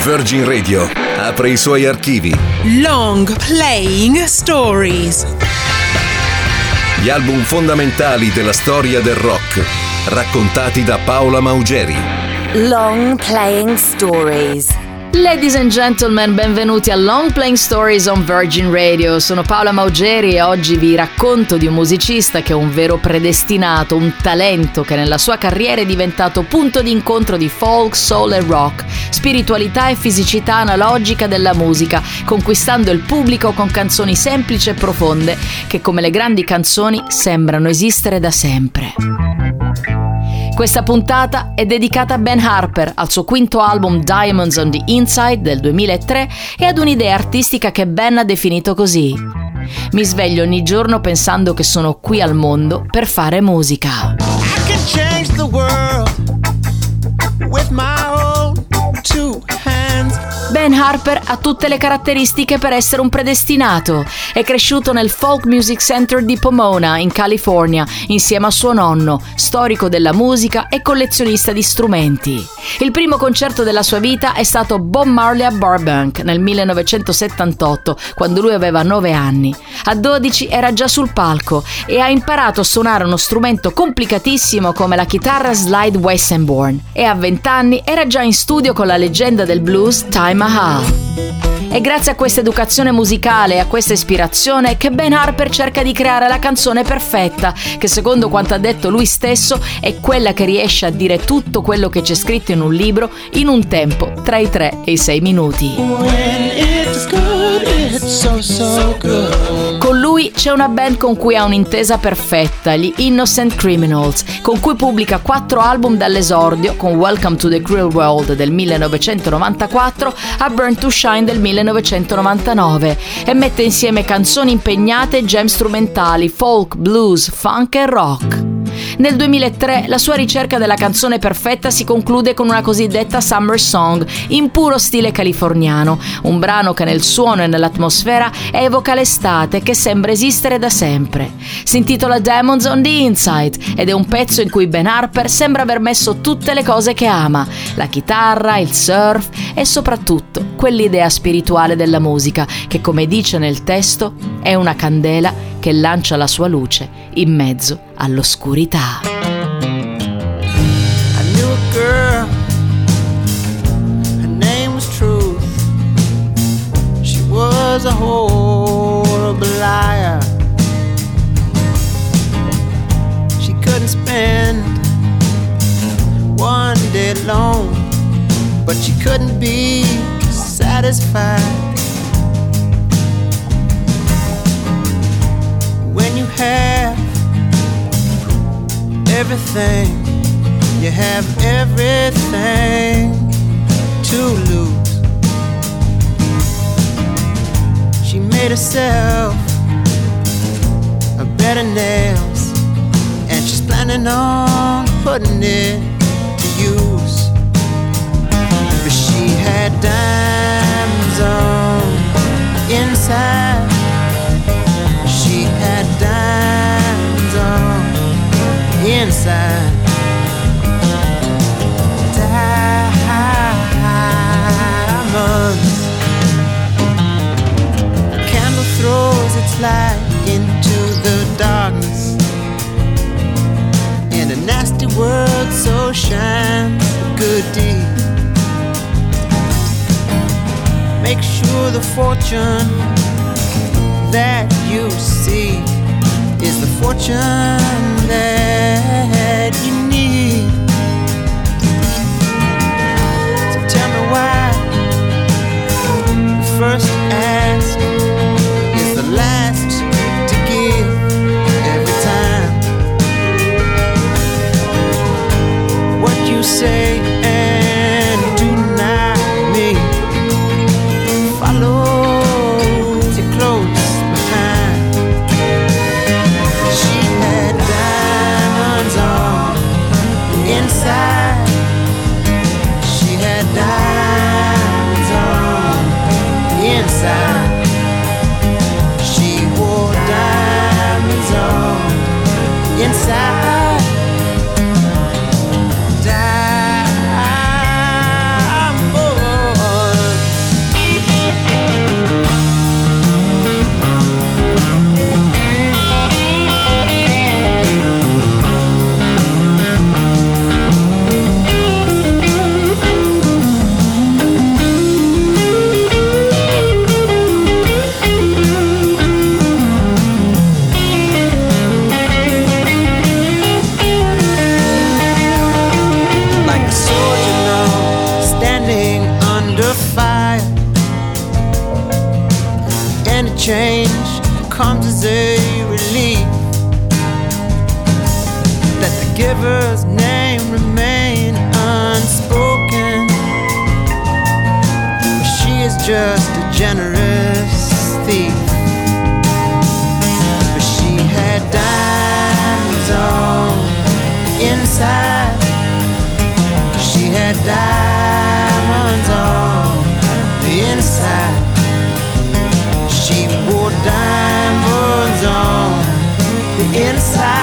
Virgin Radio apre i suoi archivi. Long Playing Stories. Gli album fondamentali della storia del rock, raccontati da Paola Maugeri. Long Playing Stories. Ladies and gentlemen, benvenuti a Long Playing Stories on Virgin Radio. Sono Paola Maugeri e oggi vi racconto di un musicista che è un vero predestinato, un talento che nella sua carriera è diventato punto di incontro di folk, soul e rock, spiritualità e fisicità analogica della musica, conquistando il pubblico con canzoni semplici e profonde che, come le grandi canzoni, sembrano esistere da sempre. Questa puntata è dedicata a Ben Harper, al suo quinto album Diamonds on the Inside del 2003 e ad un'idea artistica che Ben ha definito così: mi sveglio ogni giorno pensando che sono qui al mondo per fare musica. I can change the world with my own two hands. Ben Harper ha tutte le caratteristiche per essere un predestinato. È cresciuto nel Folk Music Center di Pomona, in California, insieme a suo nonno, storico della musica e collezionista di strumenti. Il primo concerto della sua vita è stato Bob Marley a Burbank nel 1978, quando lui aveva 9 anni. A 12 era già sul palco e ha imparato a suonare uno strumento complicatissimo come la chitarra slide Weissenborn, e a 20 anni era già in studio con la leggenda del blues Ty Mahal. È grazie a questa educazione musicale e a questa ispirazione che Ben Harper cerca di creare la canzone perfetta, che secondo quanto ha detto lui stesso è quella che riesce a dire tutto quello che c'è scritto in un libro in un tempo tra i 3 e i 6 minuti. Con lui c'è una band con cui ha un'intesa perfetta, gli Innocent Criminals, con cui pubblica 4 album dall'esordio, con Welcome to the Cruel World del 1994 a Burn to Shine del 1999, e mette insieme canzoni impegnate e gem strumentali, folk, blues, funk e rock. Nel 2003 la sua ricerca della canzone perfetta si conclude con una cosiddetta Summer Song in puro stile californiano, un brano che nel suono e nell'atmosfera evoca l'estate che sembra esistere da sempre. Si intitola Diamonds on the Inside ed è un pezzo in cui Ben Harper sembra aver messo tutte le cose che ama: la chitarra, il surf e soprattutto quell'idea spirituale della musica che, come dice nel testo, è una candela che lancia la sua luce in mezzo all'oscurità. I knew a girl, her name was Truth. She was a horrible liar. She couldn't spend one day alone, but she couldn't be satisfied. When you have everything, you have everything to lose. She made herself a bed of nails, and she's planning on putting it to use. But she had diamonds on inside. She had diamonds on inside. Diamonds. A candle throws its light into the darkness, and a nasty word so shines a good deed. Make sure the fortune that you see is the fortune that you need. So tell me why the first ask is the last to give every time. What you say and do not mean follows you close behind. She had diamonds on change comes as a relief. Let the giver's name remain unspoken. She is just a generous thief. But she had diamonds on the inside. She had diamonds on the inside. She wore diamonds on the inside.